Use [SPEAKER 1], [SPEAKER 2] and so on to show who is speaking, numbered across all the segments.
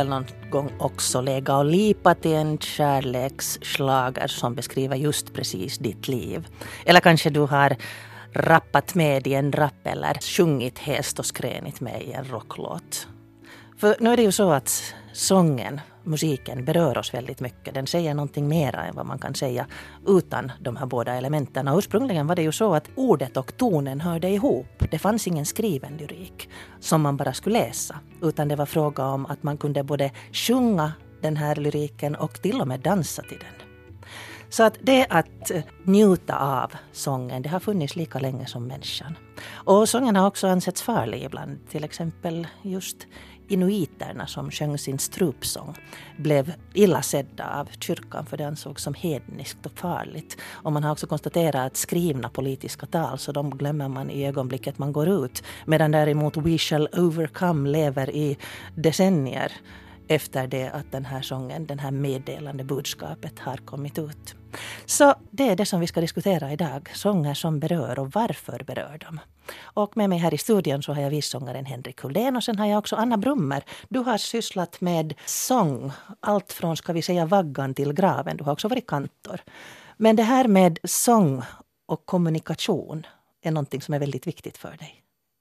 [SPEAKER 1] väl någon gång också lägga och lipa till en kärleksschlager som beskriver just precis ditt liv. Eller kanske du har rappat med i en rap eller sjungit häst och skränit med i en rocklåt. För nu är det ju så att sången, musiken berör oss väldigt mycket. Den säger någonting mera än vad man kan säga utan de här båda elementen. Och ursprungligen var det ju så att ordet och tonen hörde ihop. Det fanns ingen skriven lyrik som man bara skulle läsa. Utan det var fråga om att man kunde både sjunga den här lyriken och till och med dansa till den. Så att det att njuta av sången, det har funnits lika länge som människan. Och sången har också ansetts farlig ibland. Till exempel just inuiterna som sjöng sin strupsång blev illa sedda av kyrkan för det ansågs som hedniskt och farligt. Och man har också konstaterat att skrivna politiska tal så de glömmer man i ögonblicket man går ut. Medan däremot We Shall Overcome lever i decennier efter det att den här sången, den här meddelande budskapet har kommit ut. Så det är det som vi ska diskutera idag. Sånger som berör och varför berör de. Och med mig här i studion så har jag vissångaren Henrik Huldén och sen har jag också Anna Brummer. Du har sysslat med sång, allt från ska vi säga vaggan till graven. Du har också varit kantor. Men det här med sång och kommunikation är någonting som är väldigt viktigt för dig.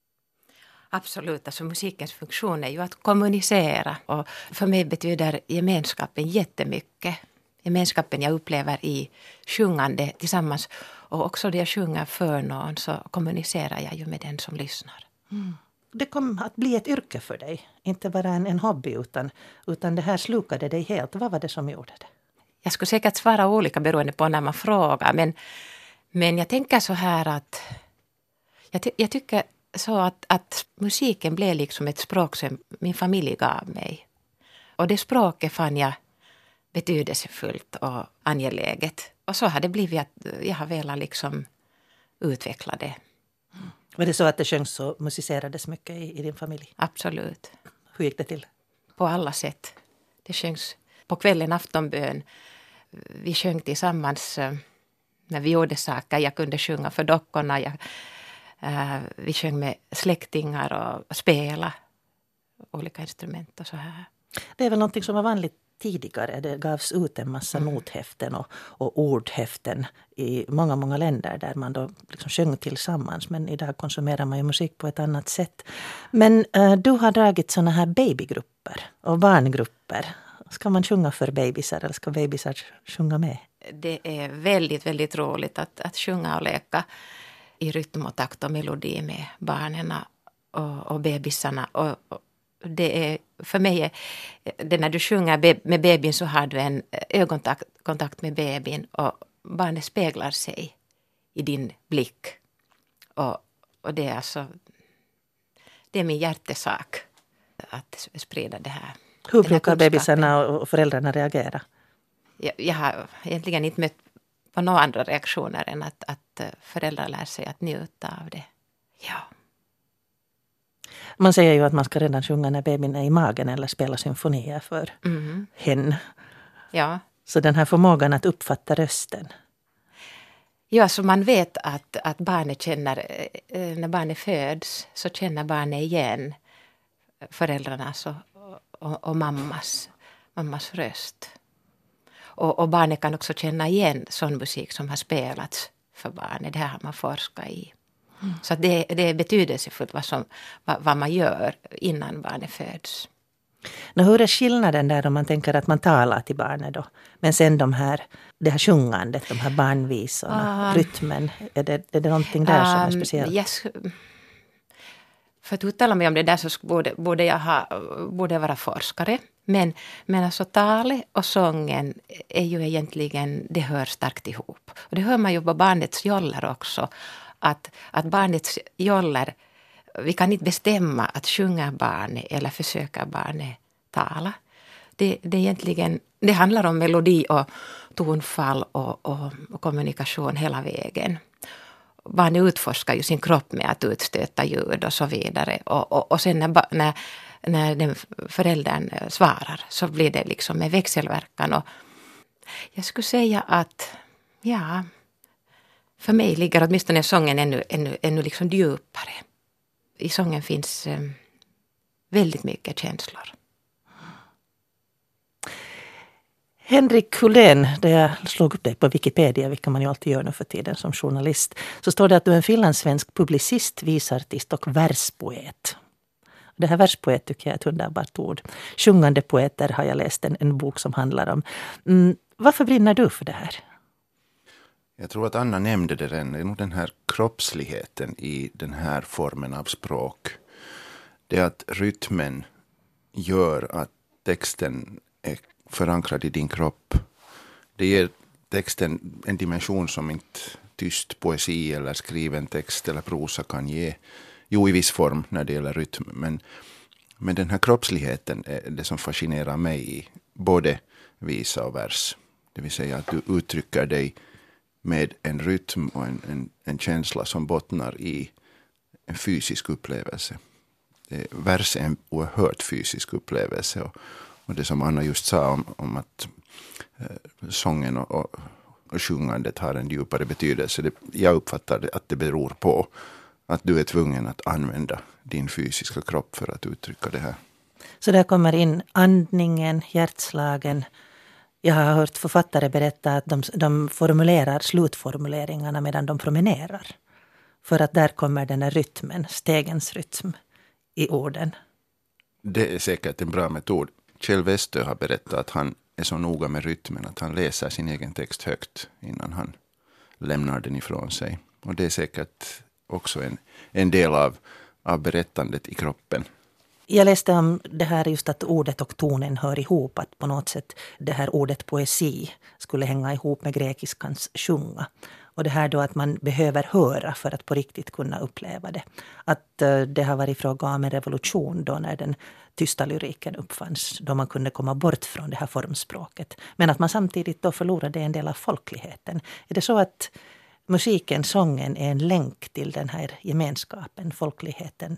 [SPEAKER 2] Absolut, alltså musikens funktion är ju att kommunicera och för mig betyder gemenskapen jättemycket. Gemenskapen jag upplever i sjungande tillsammans och också när jag sjunger för någon så kommunicerar jag ju med den som lyssnar.
[SPEAKER 1] Mm. Det kom att bli ett yrke för dig, inte bara en hobby utan det här slukade dig helt. Vad var det som gjorde det?
[SPEAKER 2] Jag skulle säkert svara olika beroende på när man frågar men jag tänker så här att jag tycker så att musiken blev liksom ett språk som min familj gav mig. Och det språket fann jag betydelsefullt och angeläget. Och så har det blivit att jag har velat liksom utveckla det.
[SPEAKER 1] Var det så att det sjöngs och musicerades mycket i din familj?
[SPEAKER 2] Absolut.
[SPEAKER 1] Hur gick det till?
[SPEAKER 2] På alla sätt. Det sjöngs på kvällen aftonbön. Vi sjöng tillsammans när vi gjorde saker. Jag kunde sjunga för dockorna. Vi sjöng med släktingar och spela olika instrument och så här. Det
[SPEAKER 1] är väl någonting som var vanligt tidigare. Det gavs ut en massa nothäften och ordhäften i många, många länder där man då liksom sjöng tillsammans. Men idag konsumerar man ju musik på ett annat sätt. Men du har dragit såna här babygrupper och barngrupper. Ska man sjunga för bebisar eller ska bebisar sjunga med?
[SPEAKER 2] Det är väldigt, väldigt roligt att sjunga och leka i rytm och takt och melodi med barnen och bebisarna. Och det är, för mig, det när du sjunger med bebin så har du en ögonkontakt med bebin och barnet speglar sig i din blick. Och det är alltså, det är min hjärtesak att sprida det här.
[SPEAKER 1] Hur brukar bebisarna och föräldrarna reagera?
[SPEAKER 2] Jag har egentligen inte mött på några andra reaktioner än att föräldrar lär sig att njuta av det. Ja.
[SPEAKER 1] Man säger ju att man ska redan sjunga när bebisen är i magen eller spela symfonier för henne.
[SPEAKER 2] Ja.
[SPEAKER 1] Så den här förmågan att uppfatta rösten.
[SPEAKER 2] Ja, så man vet att barnet känner, när barnet föds så känner barnet igen föräldrarnas och mammas röst. Och barnet kan också känna igen sån musik som har spelats för barnet. Det här har man forskat i. Så det är betydelsefullt vad man gör innan barnet föds.
[SPEAKER 1] Hur är skillnaden där om man tänker att man talar till barnet då? Men sen det här sjungandet, de här barnvisorna, rytmen. Är det någonting där som är speciellt?
[SPEAKER 2] Yes. För att uttala mig om det där så borde jag vara forskare. Men alltså talet och sången är ju egentligen, det hör starkt ihop. Och det hör man ju på barnets joller också. Att barnets joller, vi kan inte bestämma att sjunga barnet eller försöka barnet tala. Det egentligen, det handlar om melodi och tonfall och kommunikation hela vägen. Barnet utforskar ju sin kropp med att utstöta ljud och så vidare. Och sen när den föräldern svarar så blir det liksom en växelverkan. Och jag skulle säga att ja, för mig ligger åtminstone sången ännu liksom djupare. I sången finns väldigt mycket känslor.
[SPEAKER 1] Henrik Hullén, där jag slog upp dig på Wikipedia, vilket man ju alltid gör nu för tiden som journalist, så står det att du är en finlandssvensk publicist, visartist och verspoet. Det här verspoet tycker jag är ett underbart ord. Sjungande poeter har jag läst en bok som handlar om. Varför brinner du för det här?
[SPEAKER 3] Jag tror att Anna nämnde det redan. Det är nog den här kroppsligheten i den här formen av språk. Det är att rytmen gör att texten är förankrad i din kropp. Det ger texten en dimension som inte tyst poesi eller skriven text eller prosa kan ge. Jo, i viss form när det gäller rytm. Men den här kroppsligheten är det som fascinerar mig i både visa och vers. Det vill säga att du uttrycker dig med en rytm och en känsla som bottnar i en fysisk upplevelse. Vers är en oerhört fysisk upplevelse. Och det som Anna just sa om att sången och sjungandet har en djupare betydelse. Jag uppfattar att det beror på att du är tvungen att använda din fysiska kropp för att uttrycka det här.
[SPEAKER 1] Så där kommer in andningen, hjärtslagen. Jag har hört författare berätta att de formulerar slutformuleringarna medan de promenerar. För att där kommer den här rytmen, stegens rytm i orden. Det
[SPEAKER 3] är säkert en bra metod. Kjell Westö har berättat att han är så noga med rytmen att han läser sin egen text högt innan han lämnar den ifrån sig. Och det är säkert också en del av berättandet i kroppen.
[SPEAKER 1] Jag läste om det här just att ordet och tonen hör ihop. Att på något sätt det här ordet poesi skulle hänga ihop med grekiskans sjunga. Och det här då att man behöver höra för att på riktigt kunna uppleva det. Att det har varit fråga om en revolution då när den tysta lyriken uppfanns. Då man kunde komma bort från det här formspråket. Men att man samtidigt då förlorade en del av folkligheten. Är det så att musiken, sången är en länk till den här gemenskapen, folkligheten?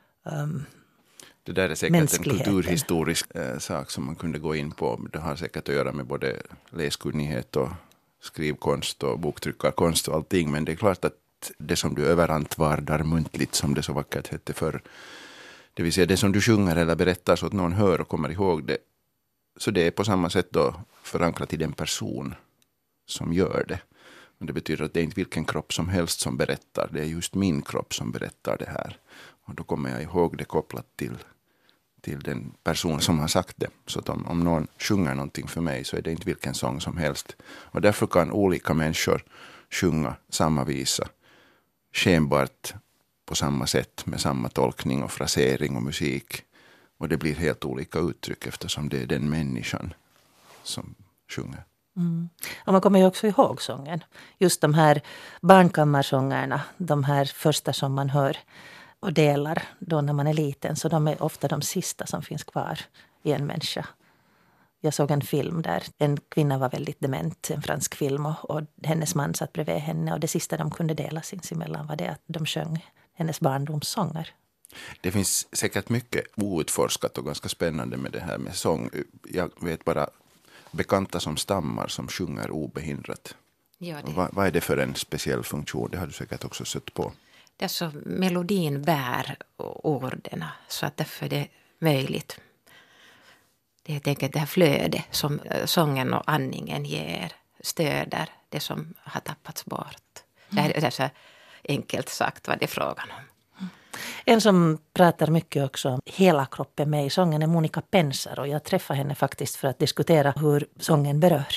[SPEAKER 3] Det där är säkert en kulturhistorisk sak som man kunde gå in på. Det har säkert att göra med både läskunnighet och skrivkonst och boktryckarkonst och allting. Men det är klart att det som du överantvardar muntligt, som det så vackert hette förr, det vill säga det som du sjunger eller berättar så att någon hör och kommer ihåg det. Så det är på samma sätt då förankrat i den person som gör det. Och det betyder att det är inte vilken kropp som helst som berättar. Det är just min kropp som berättar det här. Och då kommer jag ihåg det kopplat till den person som har sagt det. Så att om någon sjunger någonting för mig så är det inte vilken sång som helst. Och därför kan olika människor sjunga samma visa. Skenbart på samma sätt med samma tolkning och frasering och musik. Och det blir helt olika uttryck eftersom det är den människan som sjunger.
[SPEAKER 1] Mm. Och man kommer ju också ihåg sången. Just de här barnkammarsångerna, de här första som man hör och delar då när man är liten. Så de är ofta de sista som finns kvar i en människa. Jag såg en film där en kvinna var väldigt dement, en fransk film. Och hennes man satt bredvid henne och det sista de kunde dela sinsemellan var det att de sjöng hennes barndomssånger.
[SPEAKER 3] Det finns säkert mycket outforskat och ganska spännande med det här med sång. Jag vet bara bekanta som stammar som sjunger obehindrat.
[SPEAKER 2] Ja,
[SPEAKER 3] vad är det för en speciell funktion? Det har du säkert också sett på.
[SPEAKER 2] Det är så melodin bär orden så att därför är det möjligt. Det är helt enkelt det här flödet som sången och andningen ger, stöder det som har tappats bort. Det är så enkelt sagt vad det är frågan om.
[SPEAKER 1] En som pratar mycket också om hela kroppen med i sången är Monica Pensar och jag träffade henne faktiskt för att diskutera hur sången berör.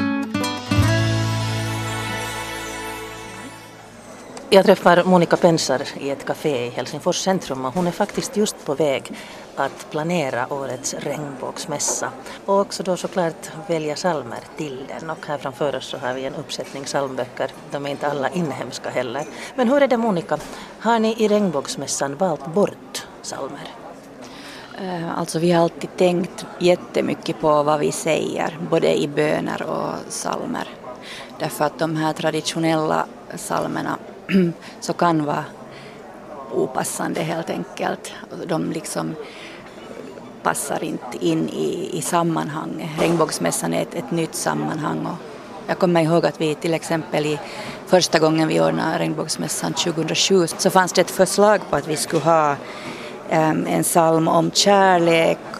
[SPEAKER 1] Jag träffar Monica Pensar i ett café i Helsingfors centrum och hon är faktiskt just på väg att planera årets regnbågsmässa. Och också då såklart välja psalmer till den. Och här framför oss så har vi en uppsättning psalmböcker. De är inte alla inhemska heller. Men hur är det Monica? Har ni i regnbågsmässan valt bort psalmer?
[SPEAKER 4] Alltså vi har alltid tänkt jättemycket på vad vi säger. Både i böner och psalmer. Därför att de här traditionella psalmerna så kan vara opassande helt enkelt. De liksom passar inte in i sammanhang. Regnbågsmässan är ett nytt sammanhang. Och jag kommer ihåg att vi till exempel i första gången vi ordnade regnbågsmässan 2007 så fanns det ett förslag på att vi skulle ha en psalm om kärlek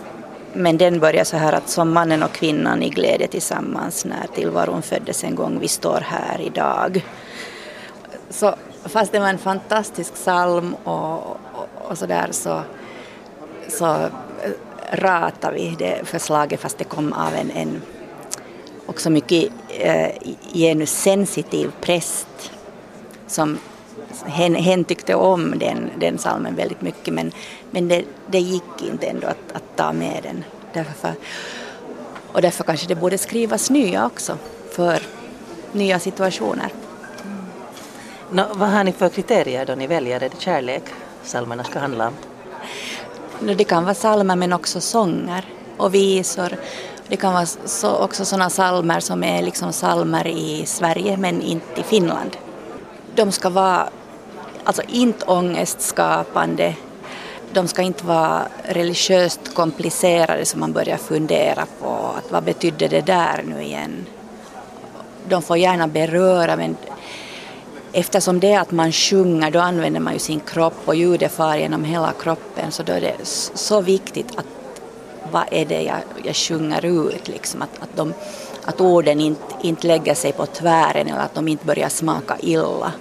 [SPEAKER 4] Men den börjar så här att som mannen och kvinnan i glädje tillsammans när tillvaron föddes en gång, vi står här idag. Så fast det var en fantastisk psalm och så där så ratar vi det förslaget fast det kom av en också mycket genussensitiv präst som hen tyckte om den psalmen väldigt mycket men det gick inte ändå att ta med den. Därför kanske det borde skrivas nya också för nya situationer.
[SPEAKER 1] Vad har ni för kriterier då ni väljer? Är det kärlek psalmerna ska handla om?
[SPEAKER 4] Det kan vara psalmer men också sånger och visor. Det kan vara också sådana psalmer som är liksom psalmer i Sverige men inte i Finland. De ska vara alltså inte ångestskapande. De ska inte vara religiöst komplicerade så man börjar fundera på att vad betydde det där nu igen. De får gärna beröra men eftersom det är att man sjunger då använder man ju sin kropp och ljudet far genom hela kroppen så då är det så viktigt att vad är det jag sjunger ut liksom att orden inte lägger sig på tvären eller att de inte börjar smaka illa.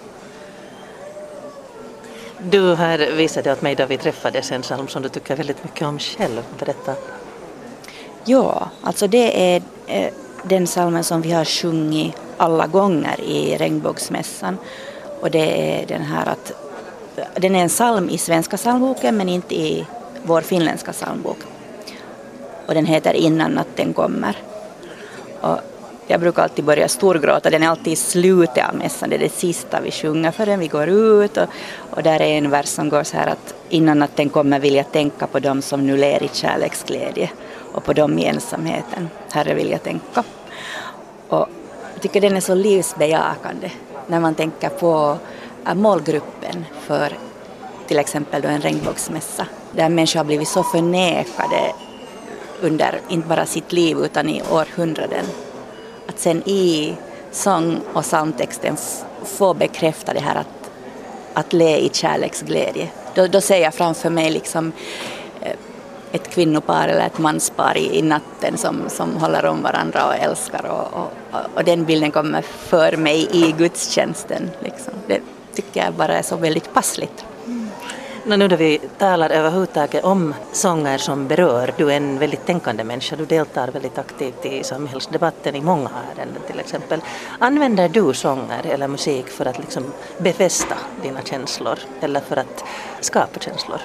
[SPEAKER 1] Du har visat åt mig då vi träffades en psalm som du tycker väldigt mycket om själv. Berätta.
[SPEAKER 4] Ja, alltså det är den psalmen som vi har sjungit alla gånger i Regnbågsmässan. Och det är den här att den är en psalm i svenska psalmboken men inte i vår finländska psalmbok. Och den heter Innan natten kommer. Och jag brukar alltid börja storgråta. Den är alltid i slutet av mässan. Det är det sista vi sjunger förrän vi går ut. Och där är en vers som går så här att innan natten kommer vill jag tänka på dem som nu ler i kärleksglädje. Och på dem i ensamheten. Herre vill jag tänka. Och jag tycker den är så livsbejakande. När man tänker på målgruppen för till exempel då en regnbågsmässa. Där människor har blivit så förnekade under inte bara sitt liv utan i århundraden. Att sen i sång- och psalmtexten få bekräfta det här att le i kärleksglädje. Då ser jag framför mig liksom ett kvinnopar eller ett manspar i natten som håller om varandra och älskar och den bilden kommer för mig i gudstjänsten. Liksom. Det tycker jag bara är så väldigt passligt.
[SPEAKER 1] Nu då vi talar överhuvudtaget om sånger som berör, du är en väldigt tänkande människa, du deltar väldigt aktivt i samhällsdebatten i många ärenden till exempel. Använder du sånger eller musik för att liksom befästa dina känslor eller för att skapa känslor?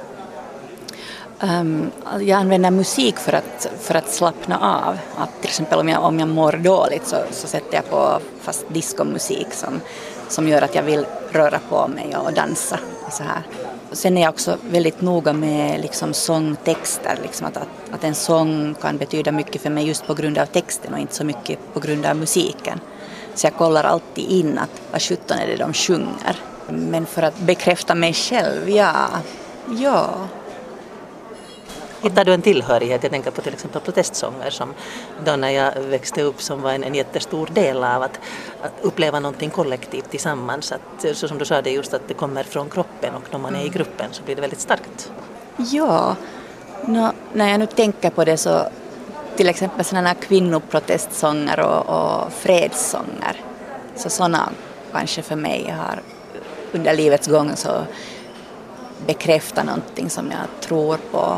[SPEAKER 4] Jag använder musik för att slappna av. Att till exempel om jag mår dåligt så sätter jag på fast diskomusik som gör att jag vill röra på mig och dansa. Och så här. Sen är jag också väldigt noga med liksom sångtexter. Liksom att en sång kan betyda mycket för mig just på grund av texten och inte så mycket på grund av musiken. Så jag kollar alltid in att vad 17 är det de sjunger. Men för att bekräfta mig själv, ja.
[SPEAKER 1] Hittar du en tillhörighet? Jag tänker på till exempel protestsånger som då när jag växte upp som var en jättestor del av att uppleva någonting kollektivt tillsammans. Att, så som du sa det just att det kommer från kroppen och när man är i gruppen så blir det väldigt starkt.
[SPEAKER 4] Ja, när jag nu tänker på det så till exempel sådana här kvinnoprotestsånger och fredssånger. Så sådana kanske för mig har under livets gång så bekräftat någonting som jag tror på.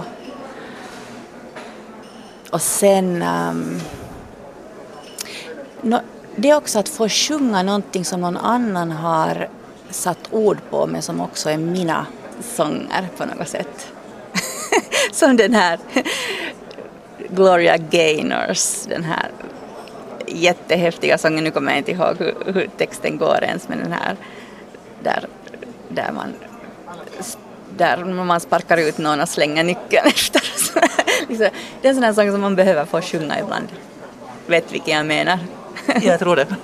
[SPEAKER 4] Och sen det är också att få sjunga någonting som någon annan har satt ord på men som också är mina sånger på något sätt. Som den här Gloria Gaynors, den här jättehäftiga sången, nu kommer jag inte ihåg hur texten går ens, men den här där man sparkar ut någon och slänger nyckeln efter. Liksom, det är en sån här sång som man behöver få sjunga ibland. Vet vilken jag menar?
[SPEAKER 1] Jag tror det.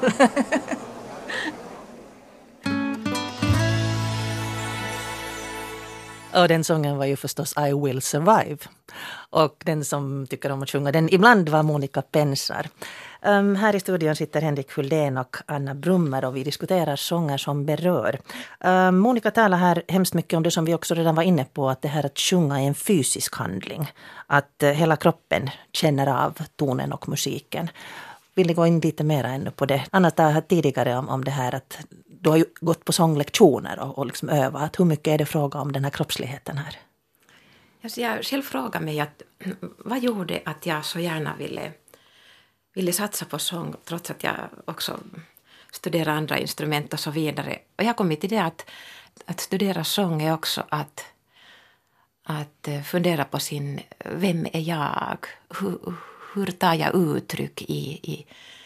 [SPEAKER 1] Och den sången var ju förstås I Will Survive. Och den som tycker om att sjunga den ibland var Monica Pensar. Här i studion sitter Henrik Hultén och Anna Brummer och vi diskuterar sånger som berör. Monica talar här hemskt mycket om det som vi också redan var inne på, att det här att sjunga är en fysisk handling. Att hela kroppen känner av tonen och musiken. Vill ni gå in lite mer ännu på det? Anna talade tidigare om det här att du har ju gått på sånglektioner och liksom övat. Hur mycket är det fråga om den här kroppsligheten här?
[SPEAKER 2] Alltså jag själv frågar mig att vad gjorde att jag så gärna ville satsa på sång trots att jag också studerar andra instrument och så vidare. Och jag kom till det att studera sång är också att fundera på vem är jag? Hur tar jag uttryck i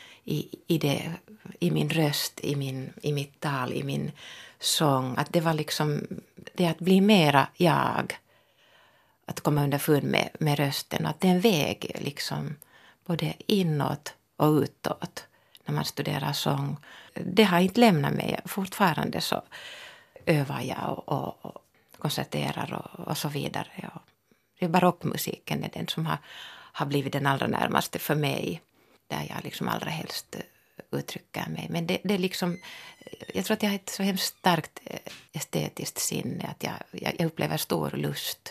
[SPEAKER 2] min röst, i mitt tal, i min sång? Att det var liksom det att bli mera jag. Att komma underfund med rösten. Att det är en väg liksom både inåt och utåt när man studerar sång. Det har inte lämnat mig. Fortfarande så övar jag och konserterar och så vidare. Och det är barockmusiken är den som har blivit den allra närmaste för mig. Där jag liksom allra helst uttrycker mig. Men det är liksom, jag tror att jag har ett så hemskt starkt estetiskt sinne. Att jag upplever stor lust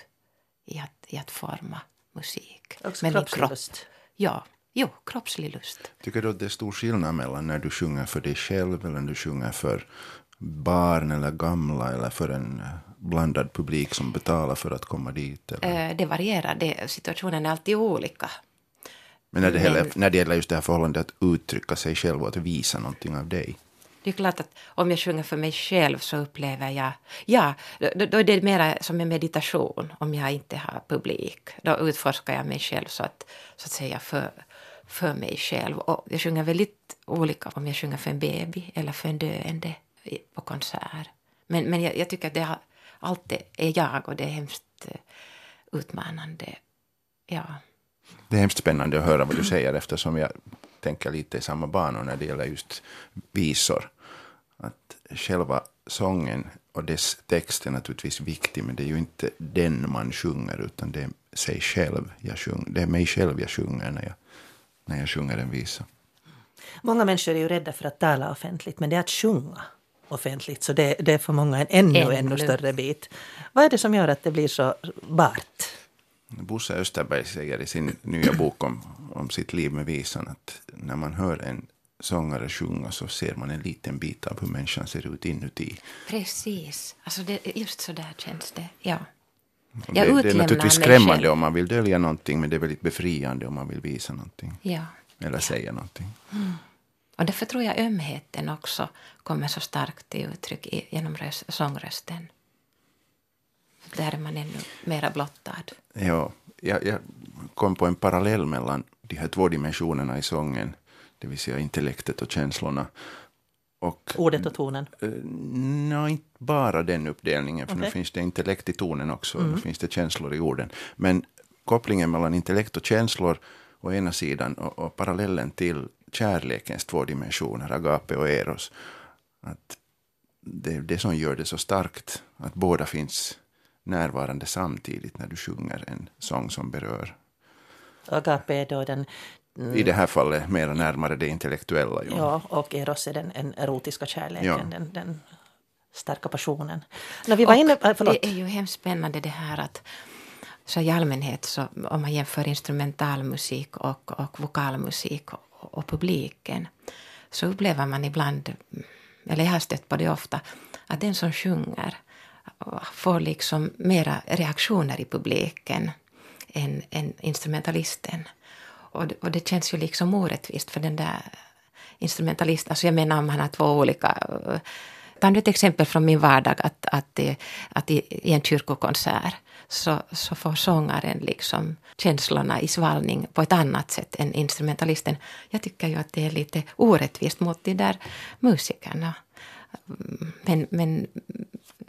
[SPEAKER 2] i att forma musik.
[SPEAKER 1] Också kroppslig lust.
[SPEAKER 2] Ja, kroppslig lust.
[SPEAKER 3] Tycker du att det är stor skillnad mellan när du sjunger för dig själv eller när du sjunger för barn eller gamla eller för en blandad publik som betalar för att komma dit? Eller?
[SPEAKER 2] Det varierar. Situationen är alltid olika.
[SPEAKER 3] Men när det gäller just det här förhållandet att uttrycka sig själv och att visa någonting av dig.
[SPEAKER 2] Det är klart att om jag sjunger för mig själv så upplever jag, då är det mer som en meditation om jag inte har publik. Då utforskar jag mig själv så att säga för mig själv. Och jag sjunger väldigt olika om jag sjunger för en baby eller för en döende på konsert. Men jag tycker att det alltid är jag och det är hemskt utmanande. Ja.
[SPEAKER 3] Det är hemskt spännande att höra vad du säger eftersom jag tänker lite i samma banor när det gäller just visor. Att själva sången och dess text är naturligtvis viktig, men det är ju inte den man sjunger utan det är sig själv jag sjunger. Det är mig själv jag sjunger när jag sjunger en visa.
[SPEAKER 1] Många människor är ju rädda för att tala offentligt, men det är att sjunga offentligt. Så det är för många en ännu större bit. Vad är det som gör att det blir så bart?
[SPEAKER 3] Bosse Österberg säger i sin nya bok om sitt liv med visan att när man hör en sångare sjunga så ser man en liten bit av hur människan ser ut inuti.
[SPEAKER 2] Precis. Alltså just så där känns det. Ja.
[SPEAKER 3] Det är naturligtvis skrämmande om man vill dölja någonting, men det är väldigt befriande om man vill visa någonting.
[SPEAKER 2] Ja.
[SPEAKER 3] Eller säga någonting.
[SPEAKER 2] Mm. Och därför tror jag ömheten också kommer så starkt till uttryck genom sångrösten. Där är man ännu mera blottad.
[SPEAKER 3] Ja, jag kom på en parallell mellan de här två dimensionerna i sången. Det vill säga intellektet och känslorna. Och,
[SPEAKER 1] ordet och tonen?
[SPEAKER 3] Nej, inte bara den uppdelningen. För nu finns det intellekt i tonen också. Nu finns det känslor i orden. Men kopplingen mellan intellekt och känslor å ena sidan och parallellen till kärlekens två dimensioner, agape och eros. Att det är det som gör det så starkt. Att båda finns närvarande samtidigt när du sjunger en sång som berör.
[SPEAKER 1] Agape är då den...
[SPEAKER 3] I det här fallet mer närmare det intellektuella.
[SPEAKER 1] Ja, och eros är den erotiska kärleken, den starka passionen. När vi var inne,
[SPEAKER 2] det är ju hemskt spännande det här att så i allmänhet så om man jämför instrumentalmusik och vokalmusik och publiken så upplever man ibland, eller jag har stött på det ofta, att den som sjunger får liksom mera reaktioner i publiken än instrumentalisten. Och det känns ju liksom orättvist för den där instrumentalisten. Alltså jag menar om han har två olika... Ta nu ett exempel från min vardag att i en kyrkokonsert så får sångaren liksom känslorna i svallning på ett annat sätt än instrumentalisten. Jag tycker ju att det är lite orättvist mot de där musikerna. Men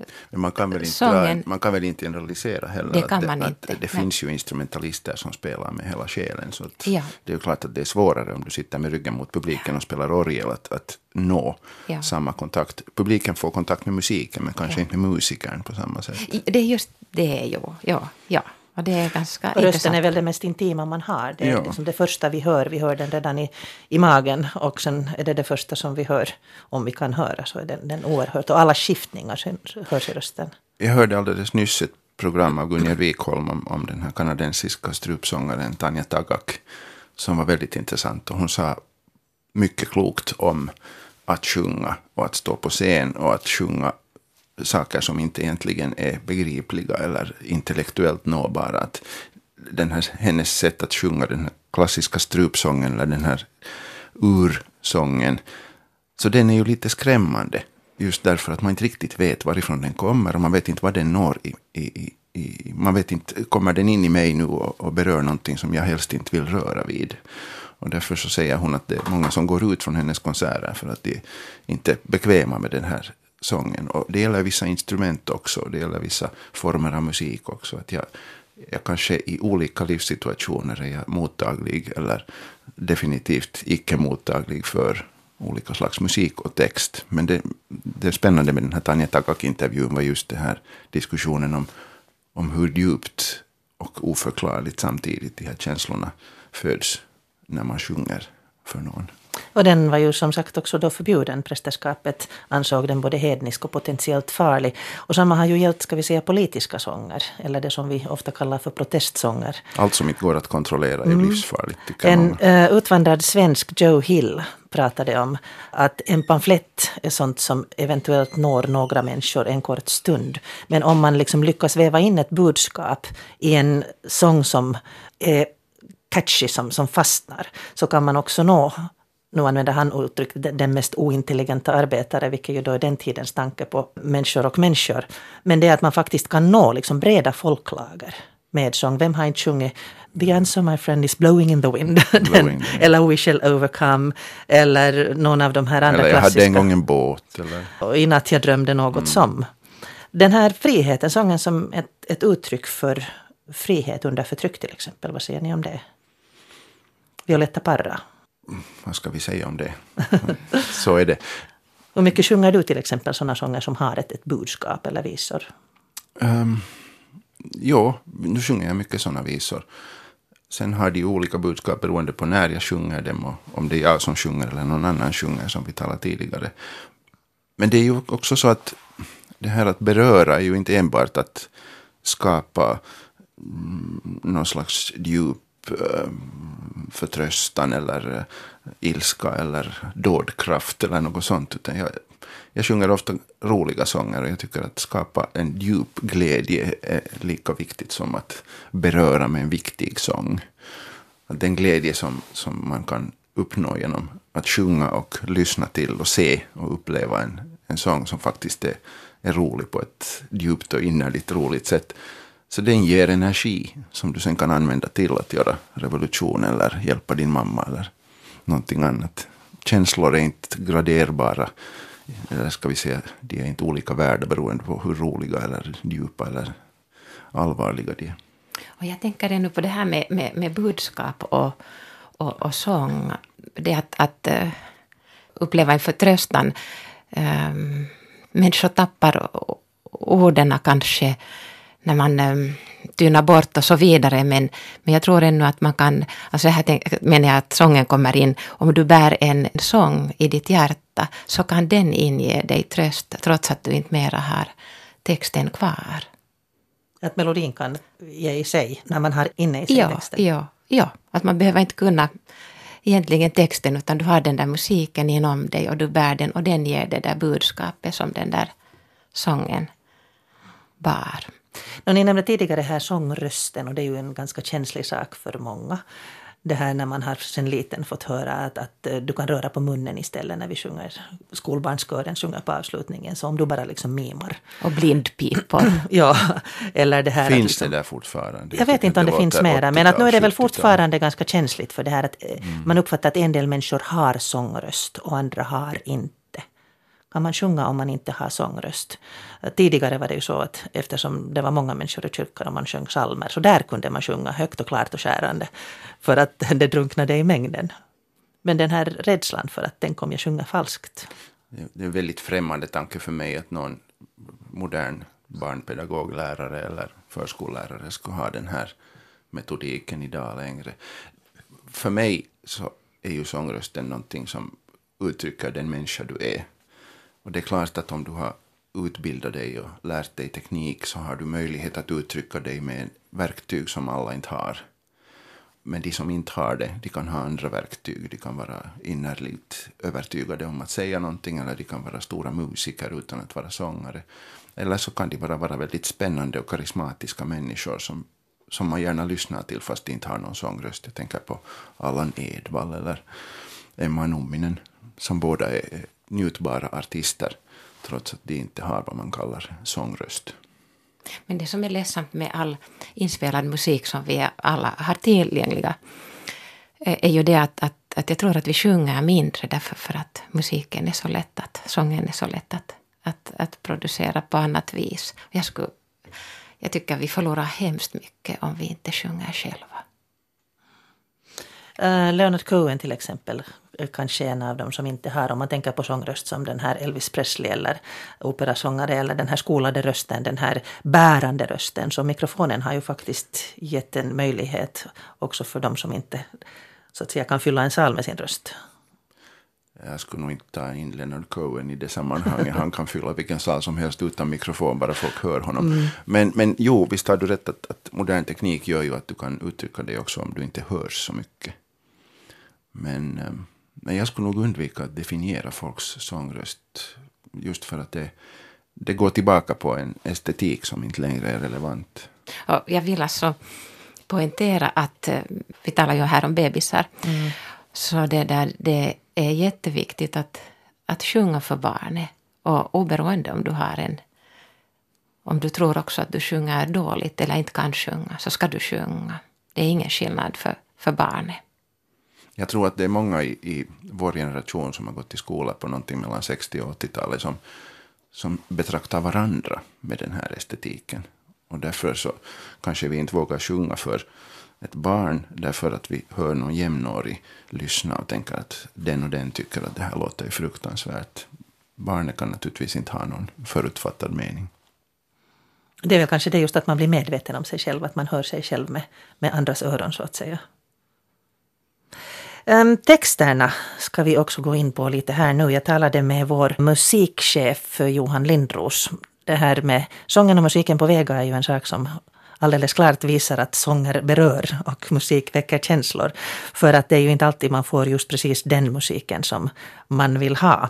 [SPEAKER 3] Men man kan väl inte generalisera heller.
[SPEAKER 2] Det kan man inte.
[SPEAKER 3] Att det finns ju instrumentalister som spelar med hela själen. Så att
[SPEAKER 2] Ja.
[SPEAKER 3] det är ju klart att det är svårare om du sitter med ryggen mot publiken och spelar orgel att nå samma kontakt. Publiken får kontakt med musiken men kanske inte med musikern på samma sätt.
[SPEAKER 2] Det är just det ju. Ja. Och det är ganska
[SPEAKER 1] och rösten
[SPEAKER 2] intressant.
[SPEAKER 1] är väl det mest intima man har. Det är liksom det första vi hör den redan i magen. Och sen är det första som vi hör, om vi kan höra, så är den oerhört. Och alla skiftningar hörs i rösten.
[SPEAKER 3] Jag hörde alldeles nyss ett program av Gunnar Wikholm om den här kanadensiska strupsångaren Tanja Tagak som var väldigt intressant. Och hon sa mycket klokt om att sjunga och att stå på scen och att sjunga saker som inte egentligen är begripliga eller intellektuellt nåbara. Att hennes sätt att sjunga den här klassiska strupsången eller den här ursången, så den är ju lite skrämmande just därför att man inte riktigt vet varifrån den kommer och man vet inte vad den når man vet inte, kommer den in i mig nu och berör någonting som jag helst inte vill röra vid. Och därför så säger hon att det är många som går ut från hennes konserter för att de inte är bekväma med den här sången. Och det gäller vissa instrument också. Det gäller vissa former av musik också. Att jag kanske i olika livssituationer är jag mottaglig eller definitivt icke mottaglig för olika slags musik och text. Men det spännande med den här Tanja Tagak-intervjun var just det här diskussionen om hur djupt och oförklarligt samtidigt de här känslorna föds när man sjunger för någon.
[SPEAKER 1] Och den var ju som sagt också då förbjuden. Prästerskapet ansåg den både hednisk och potentiellt farlig. Och samma har ju gällt, ska vi säga, politiska sånger. Eller det som vi ofta kallar för protestsånger.
[SPEAKER 3] Allt som inte går att kontrollera är livsfarligt, tycker
[SPEAKER 1] En utvandrad svensk, Joe Hill, pratade om att en pamflett är sånt som eventuellt når några människor en kort stund. Men om man liksom lyckas väva in ett budskap i en sång som är catchy, som fastnar, så kan man också nå, nu använder han uttrycket, den mest ointelligenta arbetare, vilket ju då är den tidens tanke på människor och människor. Men det är att man faktiskt kan nå liksom breda folklager med sång. Vem har inte sjungit The answer, my friend, is blowing in the wind. Eller We shall overcome. Eller någon av de här andra
[SPEAKER 3] klassiska. Eller jag hade en gång en båt. Eller?
[SPEAKER 1] Och i natt jag drömde något som. Den här friheten, sången som ett uttryck för frihet under förtryck till exempel. Vad säger ni om det? Violetta Parra.
[SPEAKER 3] Vad ska vi säga om det? Så är det.
[SPEAKER 1] Hur mycket sjunger du till exempel sådana sånger som har ett budskap eller visor?
[SPEAKER 3] Nu sjunger jag mycket sådana visor. Sen har de olika budskap beroende på när jag sjunger dem och om det är jag som sjunger eller någon annan sjunger, som vi talade tidigare. Men det är ju också så att det här att beröra är ju inte enbart att skapa någon slags djup förtröstan eller ilska eller dådkraft eller något sånt, utan jag sjunger ofta roliga sånger och jag tycker att skapa en djup glädje är lika viktigt som att beröra med en viktig sång. Att den glädje som man kan uppnå genom att sjunga och lyssna till och se och uppleva en sång som faktiskt är rolig på ett djupt och innerligt roligt sätt. Så den ger energi som du sen kan använda till att göra revolution eller hjälpa din mamma eller någonting annat. Känslor är inte graderbara. Eller ska vi säga, de är inte olika värda beroende på hur roliga eller djupa eller allvarliga de är.
[SPEAKER 2] Och jag tänker ännu på det här med budskap och sång. Det att uppleva en förtröstan. Människor tappar orden kanske när man tynar bort och så vidare. Men jag tror ännu att man kan, alltså här menar jag att sången kommer in. Om du bär en sång i ditt hjärta så kan den inge dig tröst trots att du inte mera har texten kvar.
[SPEAKER 1] Att melodin kan ge i sig när man har inne i sig texten.
[SPEAKER 2] Ja, att man behöver inte kunna egentligen texten utan du har den där musiken inom dig och du bär den och den ger det där budskapet som den där sången bar.
[SPEAKER 1] Ni nämnde tidigare här sångrösten och det är ju en ganska känslig sak för många. Det här när man har sen liten fått höra att du kan röra på munnen istället när vi sjunger. Skolbarnskören sjunger på avslutningen, så om du bara liksom mimar.
[SPEAKER 2] Och blindpipor.
[SPEAKER 1] Ja, eller det här.
[SPEAKER 3] Finns
[SPEAKER 1] liksom,
[SPEAKER 3] det där fortfarande?
[SPEAKER 1] Jag vet inte om det finns mera, men att nu är det väl fortfarande ganska känsligt för det här att man uppfattar att en del människor har sångröst och andra har inte. kan man sjunga om man inte har sångröst. Tidigare var det ju så att eftersom det var många människor i kyrkan och man sjöng psalmer, så där kunde man sjunga högt och klart och skärande för att det drunknade i mängden. Men den här rädslan för att den kommer jag sjunga falskt.
[SPEAKER 3] Det är en väldigt främmande tanke för mig att någon modern barnpedagoglärare eller förskollärare skulle ha den här metodiken idag längre. För mig så är ju sångrösten någonting som uttrycker den människa du är. Och det är klart att om du har utbildat dig och lärt dig teknik så har du möjlighet att uttrycka dig med verktyg som alla inte har. Men de som inte har det, de kan ha andra verktyg. De kan vara innerligt övertygade om att säga någonting, eller de kan vara stora musiker utan att vara sångare. Eller så kan de bara vara väldigt spännande och karismatiska människor som man gärna lyssnar till fast de inte har någon sångröst. Jag tänker på Allan Edwall eller Emma Numminen, som båda är njutbara artister trots att de inte har vad man kallar sångröst.
[SPEAKER 2] Men det som är ledsamt med all inspelad musik som vi alla har tillgängliga är ju det att jag tror att vi sjunger mindre därför för att musiken är så lätt sången är så lätt att producera på annat vis. Jag tycker vi förlorar hemskt mycket om vi inte sjunger själva.
[SPEAKER 1] Leonard Cohen till exempel kanske en av dem som inte har, om man tänker på sångröst som den här Elvis Presley eller operasångare eller den här skolade rösten, den här bärande rösten. Så mikrofonen har ju faktiskt gett en möjlighet också för dem som inte så att säga kan fylla en sal med sin röst.
[SPEAKER 3] Jag skulle nog inte ta in Leonard Cohen i det sammanhanget. Han kan fylla vilken sal som helst utan mikrofon, bara folk hör honom. Men jo, visst har du rätt att modern teknik gör ju att du kan uttrycka det också om du inte hörs så mycket. Men jag skulle nog undvika att definiera folks sångröst just för att det går tillbaka på en estetik som inte längre är relevant.
[SPEAKER 2] Och jag vill alltså poängtera att vi talar ju här om bebisar. Så det är jätteviktigt att sjunga för barnet. Och oberoende om du tror också att du sjunger dåligt eller inte kan sjunga, så ska du sjunga. Det är ingen skillnad för barnet.
[SPEAKER 3] Jag tror att det är många i vår generation som har gått i skola på någonting mellan 60- och 80-talet som betraktar varandra med den här estetiken. Och därför så kanske vi inte vågar sjunga för ett barn därför att vi hör någon jämnårig lyssna och tänker att den och den tycker att det här låter fruktansvärt. Barnet kan naturligtvis inte ha någon förutfattad mening.
[SPEAKER 1] Det är väl kanske det just att man blir medveten om sig själv, att man hör sig själv med andras öron så att säga. Texterna ska vi också gå in på lite här nu. Jag talade med vår musikchef Johan Lindros. Det här med sången och musiken på Vega är ju en sak som alldeles klart visar att sånger berör och musik väcker känslor. För att det är ju inte alltid man får just precis den musiken som man vill ha.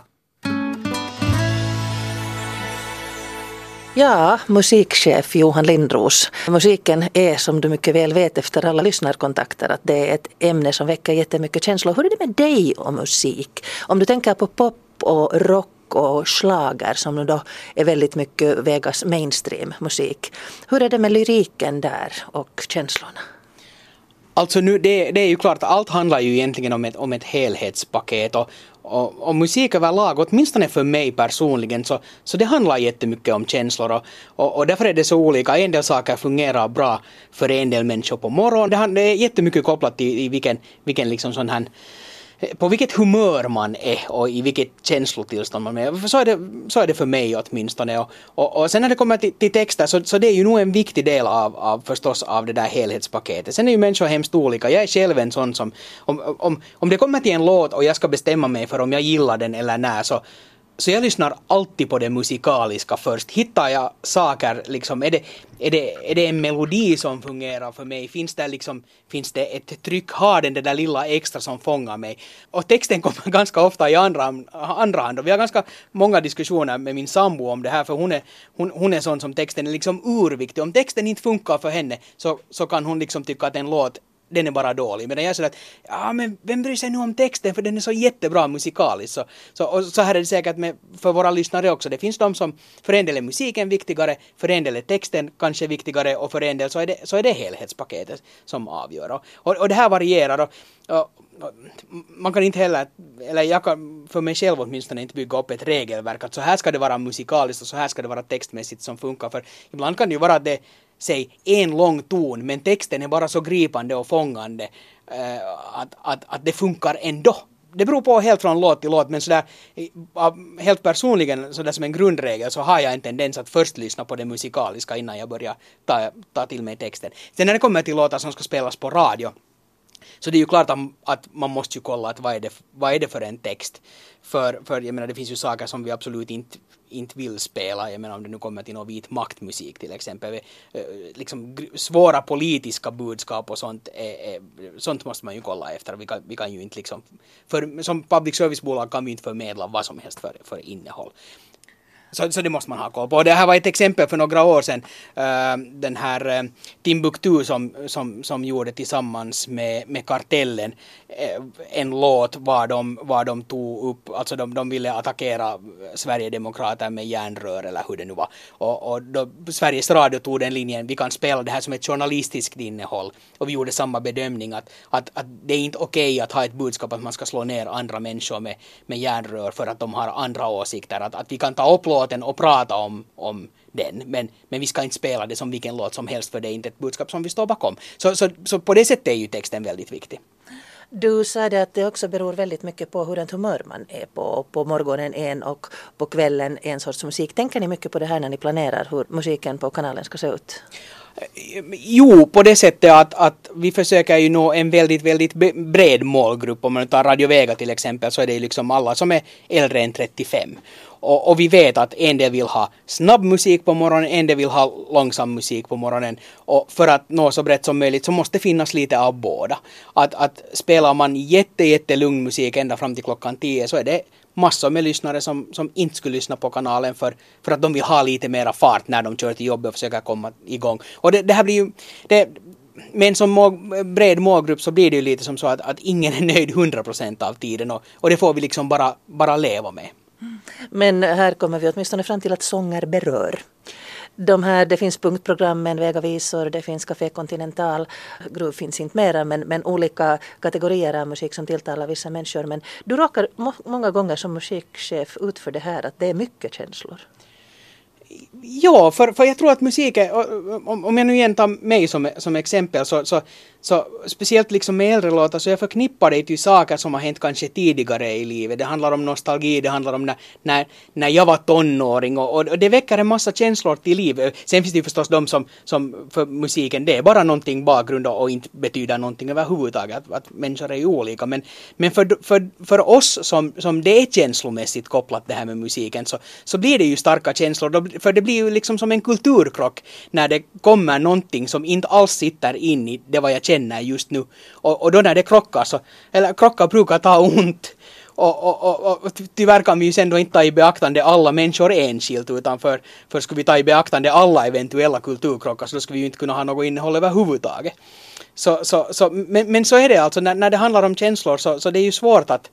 [SPEAKER 1] Ja, musikchef Johan Lindros. Musiken är, som du mycket väl vet efter alla lyssnarkontakter, att det är ett ämne som väcker jättemycket känslor. Hur är det med dig och musik? Om du tänker på pop och rock och schlager som nu då är väldigt mycket Vegas mainstream musik. Hur är det med lyriken där och känslorna?
[SPEAKER 5] Alltså nu, det är ju klart att allt handlar ju egentligen om ett helhetspaket och musik överlag, åtminstone för mig personligen, så det handlar jättemycket om känslor och därför är det så olika. En del saker fungerar bra för en del människor på morgonen. Det är jättemycket kopplat till vilken liksom sån här, på vilket humör man är och i vilket känslotillstånd man är. Så är det för mig åtminstone. Och sen när det kommer till texter så det är ju nog en viktig del förstås av det där helhetspaketet. Sen är ju människor hemskt olika. Jag är själv en sån som, om det kommer till en låt och jag ska bestämma mig för om jag gillar den eller nej, så jag lyssnar alltid på det musikaliska först. Hittar jag saker, liksom, är det en melodi som fungerar för mig? Finns det ett tryck? Har den det där lilla extra som fångar mig? Och texten kommer ganska ofta i andra hand. Och vi har ganska många diskussioner med min sambo om det här, för hon är sån som texten är liksom urviktig. Om texten inte funkar för henne så kan hon liksom tycka att en låt den är bara dålig. Men jag säger att men vem bryr sig nu om texten för den är så jättebra musikaliskt. Så här är det säkert för våra lyssnare också. Det finns de som för en del är musiken viktigare, för en del är texten kanske viktigare och för en del så är det helhetspaketet som avgör. Och det här varierar och man kan inte heller, eller jag kan för mig själv åtminstone inte bygga upp ett regelverk att så här ska det vara musikaliskt och så här ska det vara textmässigt som funkar. För ibland kan det ju vara att det säg en lång ton men texten är bara så gripande och fångande att det funkar ändå. Det beror på helt från låt till låt, men sådär helt personligen sådär som en grundregel så har jag en tendens att först lyssna på det musikaliska innan jag börjar ta till mig texten. Sen när det kommer till låtar som ska spelas på radio så det är ju klart att man måste ju kolla att vad är det för en text. För jag menar det finns ju saker som vi absolut inte vill spela. Jag menar om det nu kommer till någon vit maktmusik till exempel. Liksom svåra politiska budskap och sånt sånt måste man ju kolla efter. Vi kan ju inte liksom som public service-bolag kan vi inte förmedla vad som helst för innehåll. Så det måste man ha koll på. Det här var ett exempel för några år sedan. Den här Timbuktu som gjorde tillsammans med Kartellen en låt var de tog upp, alltså de ville attackera Sverigedemokrater med järnrör eller hur det nu var. Och då Sveriges Radio tog den linjen, vi kan spela det här som ett journalistiskt innehåll. Och vi gjorde samma bedömning att det är inte okej att ha ett budskap att man ska slå ner andra människor med järnrör för att de har andra åsikter. Att vi kan ta upp låten och prata om den, men vi ska inte spela det som vilken låt som helst för det är inte ett budskap som vi står bakom. Så på det sättet är ju texten väldigt viktig.
[SPEAKER 1] Du sa det att det också beror väldigt mycket på hur humör man är på morgonen en och på kvällen en sorts musik. Tänker ni mycket på det här när ni planerar hur musiken på kanalen ska se ut?
[SPEAKER 5] Jo, på det sättet att vi försöker ju nå en väldigt, väldigt bred målgrupp. Om man tar Radio Vega till exempel så är det liksom alla som är äldre än 35. Och vi vet att en del vill ha snabb musik på morgonen, en del vill ha långsam musik på morgonen. Och för att nå så brett som möjligt så måste finnas lite av båda. Att spelar man jättelugn musik ända fram till klockan 10 så är det massor med lyssnare som inte skulle lyssna på kanalen för att de vill ha lite mera fart när de kör till jobbet och försöker komma igång. Och det här blir ju... med en sån bred målgrupp så blir det ju lite som så att ingen är nöjd 100% av tiden och det får vi liksom bara leva med.
[SPEAKER 1] Men här kommer vi åtminstone fram till att sånger berör. Det finns punktprogrammen, Vegavisor, det finns Café Continental, Groove finns inte mera, men olika kategorier av musik som tilltalar vissa människor. Men du råkar många gånger som musikchef ut för det här, att det är mycket känslor.
[SPEAKER 5] Ja, för jag tror att musik är, om jag nu igen tar mig som exempel så speciellt liksom med äldre låtar så jag förknippar det till saker som har hänt kanske tidigare i livet. Det handlar om nostalgi, det handlar om när jag var tonåring och det väcker en massa känslor till liv. Sen finns det ju förstås de som för musiken det är bara någonting bakgrund och inte betyder någonting överhuvudtaget. Att människor är ju olika. Men för oss som det är känslomässigt kopplat det här med musiken så blir det ju starka känslor. För det blir ju liksom som en kulturkrock när det kommer någonting som inte alls sitter in i det vad jag känner just nu. Och då när det krockar krockar brukar ta ont. Och tyvärr kan vi ju sen då inte ta i beaktande alla människor enskilt utan för skulle vi ta i beaktande alla eventuella kulturkrockar så då skulle vi ju inte kunna ha något innehåll överhuvudtaget. Men så är det alltså när det handlar om känslor så det är ju svårt att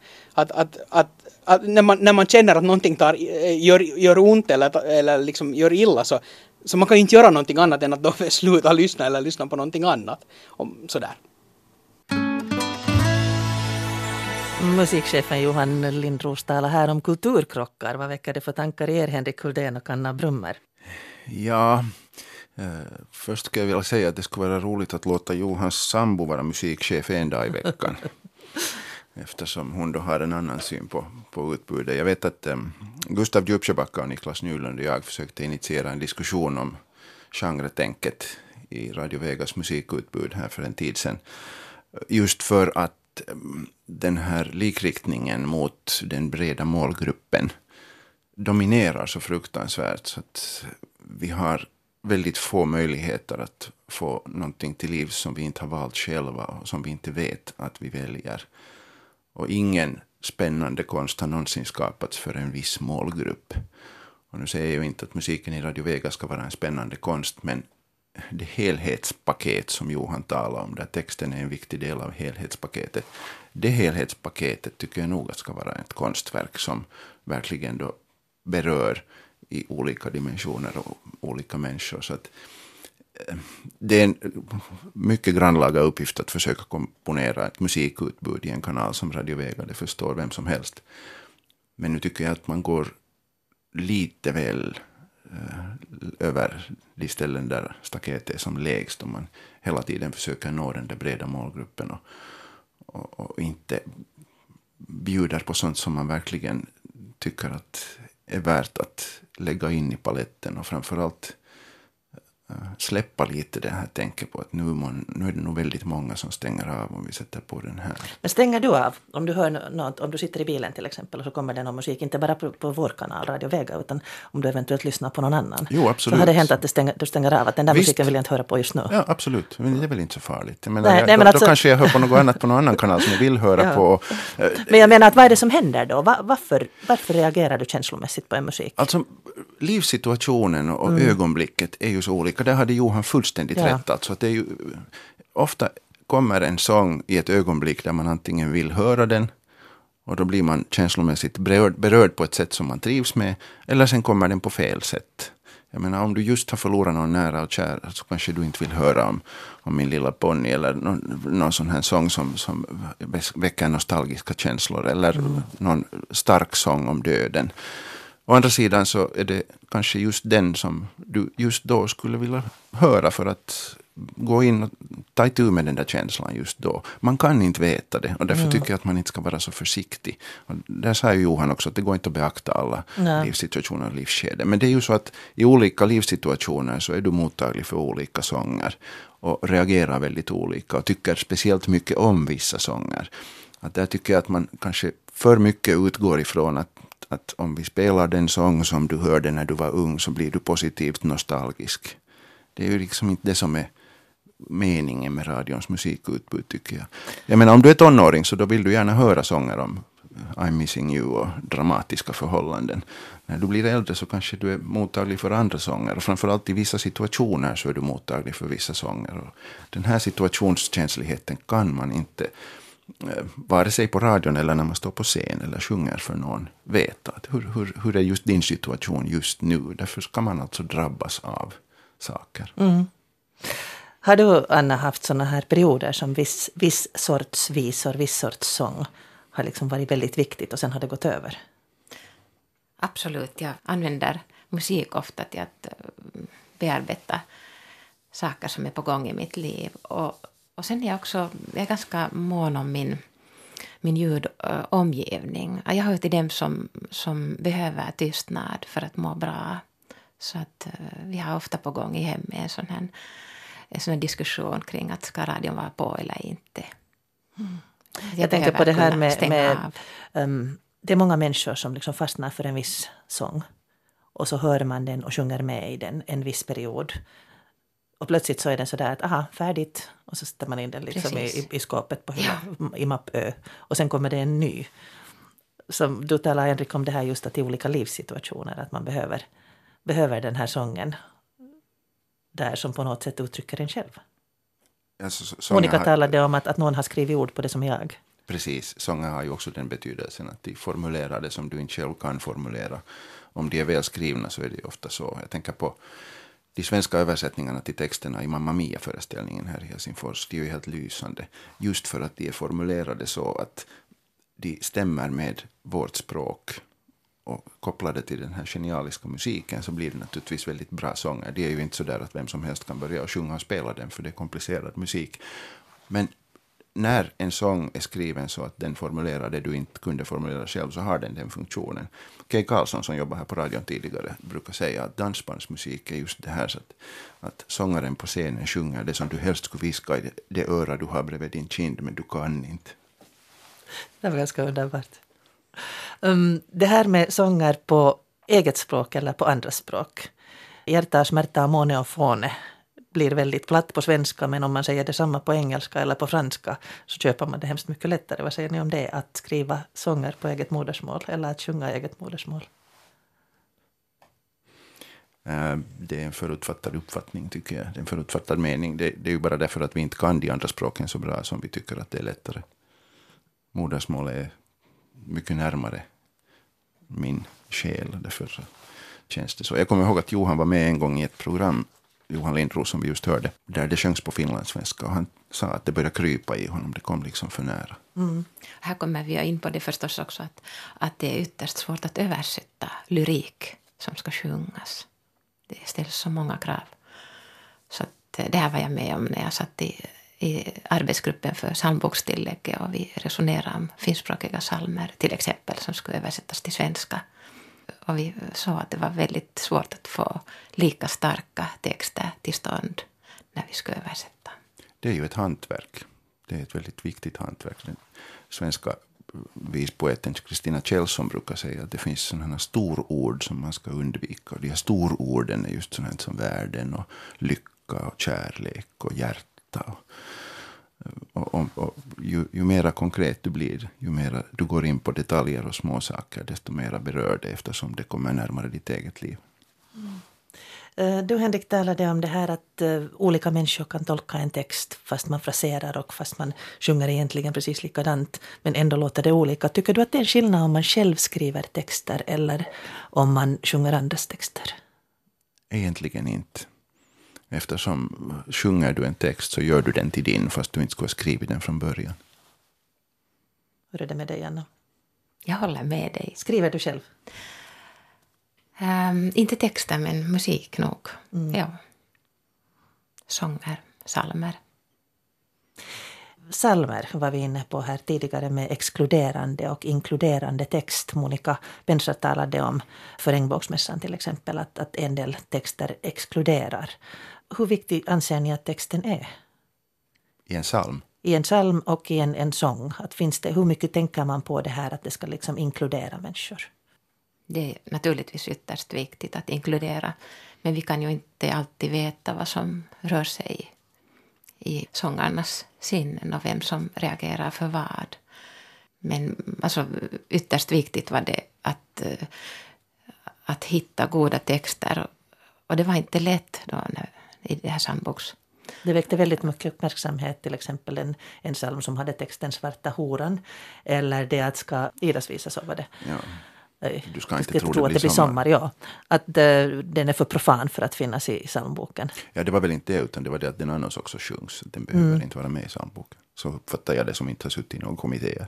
[SPEAKER 5] när man känner att någonting gör ont eller liksom gör illa så man kan ju inte göra någonting annat än att då sluta lyssna eller lyssna på någonting annat. Sådär.
[SPEAKER 1] Musikchefen Johan Lindros talar här om kulturkrockar. Vad väcker det för tankar i er, Henrik Kuldén och Anna Brummer?
[SPEAKER 3] Ja, först ska jag vilja säga att det skulle vara roligt att låta Johans sambo vara musikchef en dag i veckan. Eftersom hon då har en annan syn på utbudet. Jag vet att Gustav Djupsjöbacka och Niklas Nylund och jag försökte initiera en diskussion om genretänket i Radio Vegas musikutbud här för en tid sedan. Just för att den här likriktningen mot den breda målgruppen dominerar så fruktansvärt så att vi har väldigt få möjligheter att få någonting till liv som vi inte har valt själva och som vi inte vet att vi väljer. Och ingen spännande konst har någonsin skapats för en viss målgrupp. Och nu säger jag ju inte att musiken i Radio Vega ska vara en spännande konst, men det helhetspaket som Johan talar om, där texten är en viktig del av helhetspaketet. Det helhetspaketet tycker jag nog ska vara ett konstverk som verkligen då berör i olika dimensioner och olika människor. Så att det är en mycket grannlaga uppgift att försöka komponera ett musikutbud i en kanal som Radio Vega. Det förstår vem som helst. Men nu tycker jag att man går lite väl över de ställen där staketet är som lägst, om man hela tiden försöker nå den där breda målgruppen och inte bjuder på sånt som man verkligen tycker att är värt att lägga in i paletten, och framförallt släppa lite det här tänker på att nu är det nog väldigt många som stänger av om vi sätter på den här.
[SPEAKER 1] Men stänger du av om du hör något, om du sitter i bilen till exempel och så kommer det någon musik, inte bara på vår kanal Radio Vega, utan om du eventuellt lyssnar på någon annan?
[SPEAKER 3] Jo, absolut.
[SPEAKER 1] Så har det hänt att du stänger av, att den där
[SPEAKER 3] Visst.
[SPEAKER 1] musiken vill jag inte höra på just nu?
[SPEAKER 3] Ja, absolut. Men det är väl inte så farligt.
[SPEAKER 1] Men
[SPEAKER 3] då kanske jag hör på något annat på någon annan kanal som jag vill höra på.
[SPEAKER 1] Men jag menar, att vad är det som händer då? Varför reagerar du känslomässigt på en musik?
[SPEAKER 3] Alltså, livssituationen och ögonblicket är ju så olika. Där hade Johan fullständigt rätt. Alltså, att det är ju, ofta kommer en sång i ett ögonblick där man antingen vill höra den, och då blir man känslomässigt berörd på ett sätt som man trivs med, eller sen kommer den på fel sätt. Jag menar, om du just har förlorat någon nära och kär, så kanske du inte vill höra om Min lilla ponny, eller någon sån här sång som väcker nostalgiska känslor, eller någon stark sång om döden. Å andra sidan så är det kanske just den som du just då skulle vilja höra för att gå in och ta itu med den där känslan just då. Man kan inte veta det, och därför tycker jag att man inte ska vara så försiktig. Och där sa ju Johan också att det går inte att beakta alla livssituationer och livsskeden. Men det är ju så att i olika livssituationer så är du mottaglig för olika sånger och reagerar väldigt olika och tycker speciellt mycket om vissa sånger. Att där tycker jag att man kanske för mycket utgår ifrån att om vi spelar den sång som du hörde när du var ung, så blir du positivt nostalgisk. Det är ju liksom inte det som är meningen med radions musikutbud, tycker jag. Jag menar, om du är tonåring så då vill du gärna höra sånger om I'm missing you och dramatiska förhållanden. När du blir äldre så kanske du är mottaglig för andra sånger, och framförallt i vissa situationer så är du mottaglig för vissa sånger. Och den här situationskänsligheten kan man inte, vare sig på radion eller när man står på scen eller sjunger för någon, veta att hur är just din situation just nu. Därför ska man alltså drabbas av saker.
[SPEAKER 1] Har du, Anna, haft såna här perioder som viss sorts visor, viss sorts sång har liksom varit väldigt viktigt och sen har det gått över?
[SPEAKER 2] Absolut, jag använder musik ofta till att bearbeta saker som är på gång i mitt liv. Och sen är jag är ganska mån om min ljudomgivning. Jag hör till dem som behöver tystnad för att må bra. Så att vi har ofta på gång i hemmet en sån här diskussion kring att ska radion vara på eller inte.
[SPEAKER 1] Jag tänker på det här med det är många människor som liksom fastnar för en viss sång. Och så hör man den och sjunger med i den en viss period. Och plötsligt så är den sådär att aha, färdigt. Och så sätter man in den liksom i skåpet på i mappö. Och sen kommer det en ny. Som du talar, Henrik, om det här just att i olika livssituationer att man behöver den här sången där som på något sätt uttrycker en själv.
[SPEAKER 3] Alltså,
[SPEAKER 1] Monica talade om att någon har skrivit ord på det som jag.
[SPEAKER 3] Precis, sånger har ju också den betydelsen att de formulerar det som du inte själv kan formulera. Om de är väl skrivna så är det ju ofta så. Jag tänker på de svenska översättningarna till texterna i Mamma Mia-föreställningen här i Helsingfors. De är ju helt lysande. Just för att de är formulerade så att de stämmer med vårt språk. Och kopplade till den här genialiska musiken så blir det naturligtvis väldigt bra sånger. Det är ju inte så där att vem som helst kan börja och sjunga och spela den, för det är komplicerad musik. Men när en sång är skriven så att den formulerar det du inte kunde formulera själv, så har den funktionen. Kay Karlsson, som jobbar här på radion tidigare, brukar säga att dansbandsmusik är just det här, så att sångaren på scenen sjunger det som du helst skulle viska i det öra du har bredvid din kind, men du kan inte.
[SPEAKER 1] Det var ganska underbart. Det här med sånger på eget språk eller på andra språk. Hjärta, smärta, måne och fåne blir väldigt platt på svenska, men om man säger detsamma på engelska eller på franska så köper man det hemskt mycket lättare. Vad säger ni om det? Att skriva sånger på eget modersmål eller att sjunga eget modersmål?
[SPEAKER 3] Det är en förutfattad uppfattning, tycker jag. Det är en förutfattad mening. Det är ju bara därför att vi inte kan de andra språken så bra som vi tycker att det är lättare. Modersmålet är mycket närmare min själ. Därför så känns det så. Jag kommer ihåg att Johan var med en gång i ett program, Johan Lindros som vi just hörde, där det sjöngs på finlandssvenska. Och han sa att det började krypa i honom. Det kom liksom för nära.
[SPEAKER 2] Mm. Här kommer vi in på det förstås också att det är ytterst svårt att översätta lyrik som ska sjungas. Det ställs så många krav. Så att det här var jag med om när jag satt i arbetsgruppen för psalmbokstillägget och vi resonerade om finskspråkiga psalmer till exempel som skulle översättas till svenska. Och vi såg att det var väldigt svårt att få lika starka texter till stånd när vi skulle översätta.
[SPEAKER 3] Det är ju ett hantverk. Det är ett väldigt viktigt hantverk. Den svenska vispoeten Kristina Kjellson brukar säga att det finns sådana storord som man ska undvika. Och de här stororden är just sådana som världen och lycka och kärlek och hjärta. Och ju mera konkret du blir, ju mera du går in på detaljer och små saker, desto mera berör det eftersom det kommer närmare ditt eget liv.
[SPEAKER 1] Mm. Du, Henrik, talade om det här att olika människor kan tolka en text fast man fraserar och fast man sjunger egentligen precis likadant men ändå låter det olika. Tycker du att det är en skillnad om man själv skriver texter eller om man sjunger andras texter?
[SPEAKER 3] Egentligen inte. Eftersom sjunger du en text så gör du den till din fast du inte skulle ha skrivit den från början.
[SPEAKER 1] Hur är det med dig, Anna?
[SPEAKER 2] Jag håller med dig.
[SPEAKER 1] Skriver du själv?
[SPEAKER 2] Inte texter men musik nog.
[SPEAKER 1] Mm.
[SPEAKER 2] Ja. Sånger, psalmer.
[SPEAKER 1] Psalmer var vi inne på här tidigare med exkluderande och inkluderande text. Monica Bensra talade om för Regnbågsmässan till exempel att en del texter exkluderar. Hur viktig anser ni att texten är?
[SPEAKER 3] I en psalm?
[SPEAKER 1] I en psalm och i en sång. Att finns det, hur mycket tänker man på det här att det ska liksom inkludera människor?
[SPEAKER 2] Det är naturligtvis ytterst viktigt att inkludera. Men vi kan ju inte alltid veta vad som rör sig i sångarnas sinnen och vem som reagerar för vad. Men alltså, ytterst viktigt var det att hitta goda texter. Och det var inte lätt då i det här psalmboks.
[SPEAKER 1] Det väckte väldigt mycket uppmärksamhet, till exempel en psalm som hade texten Svarta horan. Eller det att ska Idas visa, så var det.
[SPEAKER 3] Ja. Du ska inte tro
[SPEAKER 1] att det blir sommar. Ja. Att den är för profan för att finnas i psalmboken.
[SPEAKER 3] Ja, det var väl inte det, utan det var det att den annars också sjungs. Den behöver inte vara med i psalmboken. Så uppfattar jag det som inte har suttit i någon kommitté.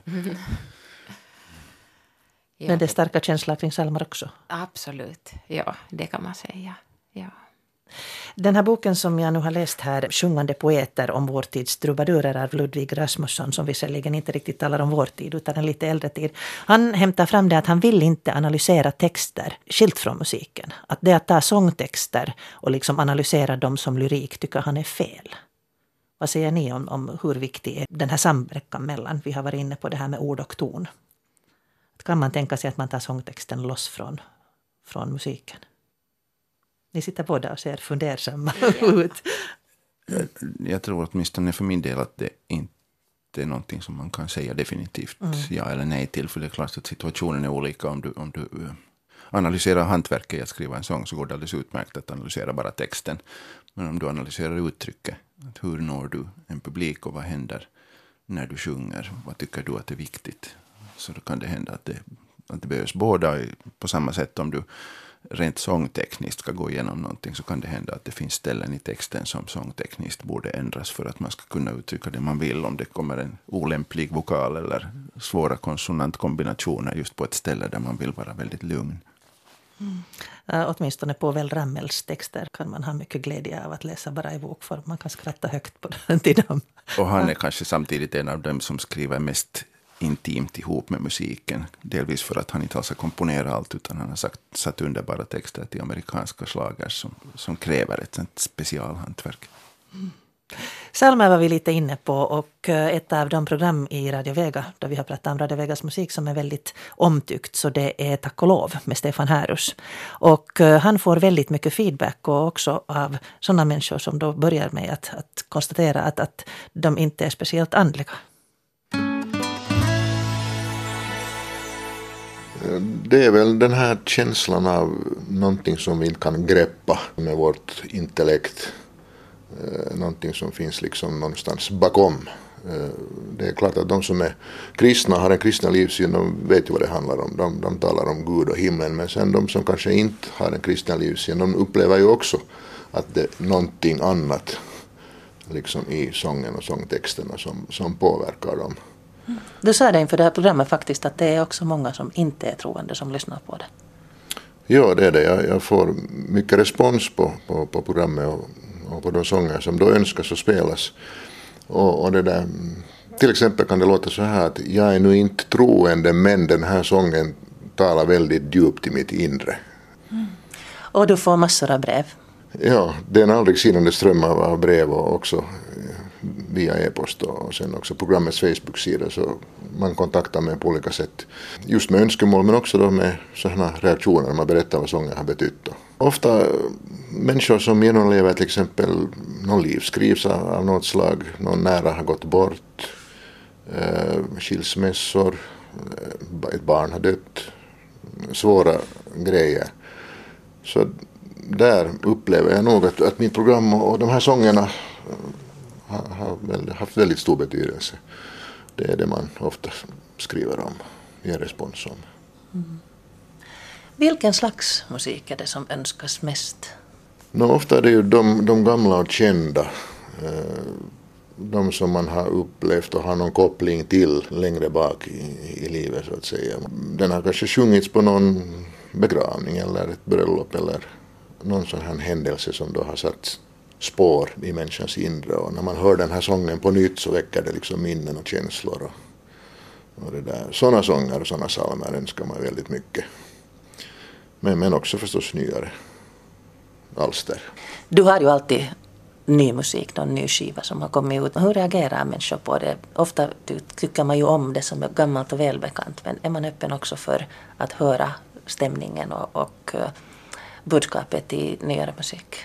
[SPEAKER 2] Ja.
[SPEAKER 1] Men det är starka känslor kring psalmer också.
[SPEAKER 2] Absolut, ja, det kan man säga. Ja.
[SPEAKER 1] Den här boken som jag nu har läst här, Sjungande poeter om vår tids trubadurer av Ludvig Rasmusson, som visserligen inte riktigt talar om vår tid utan en lite äldre tid. Han hämtar fram det att han vill inte analysera texter skilt från musiken. Att det att ta sångtexter och liksom analysera dem som lyrik tycker han är fel. Vad säger ni om hur viktig är den här samverkan mellan? Vi har varit inne på det här med ord och ton. Kan man tänka sig att man tar sångtexten loss från musiken? Ni sitter båda och ser fundersamma ut.
[SPEAKER 3] Jag tror åtminstone för min del att det inte är någonting som man kan säga definitivt ja eller nej till. För det är klart att situationen är olika. Om du analyserar hantverket i att skriva en sång så går det alldeles utmärkt att analysera bara texten. Men om du analyserar uttrycket, att hur når du en publik och vad händer när du sjunger? Vad tycker du att är viktigt? Så då kan det hända att det behövs båda. På samma sätt om du rent sångtekniskt ska gå igenom någonting så kan det hända att det finns ställen i texten som sångtekniskt borde ändras för att man ska kunna uttrycka det man vill. Om det kommer en olämplig vokal eller svåra konsonantkombinationer just på ett ställe där man vill vara väldigt lugn.
[SPEAKER 1] Åtminstone på Väl Ramels texter kan man ha mycket glädje av att läsa bara i bokform. Man kan skratta högt på den till dem.
[SPEAKER 3] Och han är kanske samtidigt en av dem som skriver mest intimt ihop med musiken. Delvis för att han inte alls har komponerat allt utan han har satt underbara texter till amerikanska slagers som kräver ett sånt specialhantverk.
[SPEAKER 1] Psalmer var vi lite inne på och ett av de program i Radio Vega där vi har pratat om Radio Vegas musik som är väldigt omtyckt så det är Tack och lov med Stefan Härus. Och han får väldigt mycket feedback och också av sådana människor som då börjar med att konstatera att de inte är speciellt andliga.
[SPEAKER 6] Det är väl den här känslan av någonting som vi inte kan greppa med vårt intellekt. Någonting som finns liksom någonstans bakom. Det är klart att de som är kristna, har en kristna livssyn, de vet ju vad det handlar om. De talar om Gud och himlen, men sen de som kanske inte har en kristna livssyn, de upplever ju också att det är någonting annat liksom i sången och sångtexterna som påverkar dem.
[SPEAKER 1] Du sa det inför det här programmet faktiskt att det är också många som inte är troende som lyssnar på det.
[SPEAKER 6] Ja, det är det. Jag får mycket respons på programmet och på de sånger som då önskas och spelas. Och det där, till exempel kan det låta så här att jag är nu inte troende, men den här sången talar väldigt djupt i mitt inre.
[SPEAKER 1] Och du får massor av brev.
[SPEAKER 6] Ja, det är en aldrig sinande ström av brev och också via e-post och sen också programmets Facebook-sida, så man kontaktar mig på olika sätt. Just med önskemål men också då med sådana reaktioner när man berättar vad sången har betytt. Ofta människor som genomlever till exempel någon livskris av något slag, någon nära har gått bort, skilsmässor, ett barn har dött, svåra grejer. Så där upplever jag nog att mitt program och de här sångerna har haft väldigt stor betydelse. Det är det man ofta skriver om, ger respons om.
[SPEAKER 1] Vilken slags musik är det som önskas mest?
[SPEAKER 6] Ofta är det ju de gamla och kända. De som man har upplevt och har någon koppling till längre bak i livet så att säga. Den har kanske sjungits på någon begravning eller ett bröllop eller någon sån här händelse som då har satt spår i människans inre, och när man hör den här sången på nytt så väcker det liksom minnen och känslor och det där. Sådana sånger och sådana psalmer önskar man väldigt mycket. Men också förstås nyare alster.
[SPEAKER 1] Du har ju alltid ny musik, någon ny skiva som har kommit ut. Hur reagerar människor på det? Ofta tycker man ju om det som är gammalt och välbekant, men är man öppen också för att höra stämningen och budskapet i nyare musik?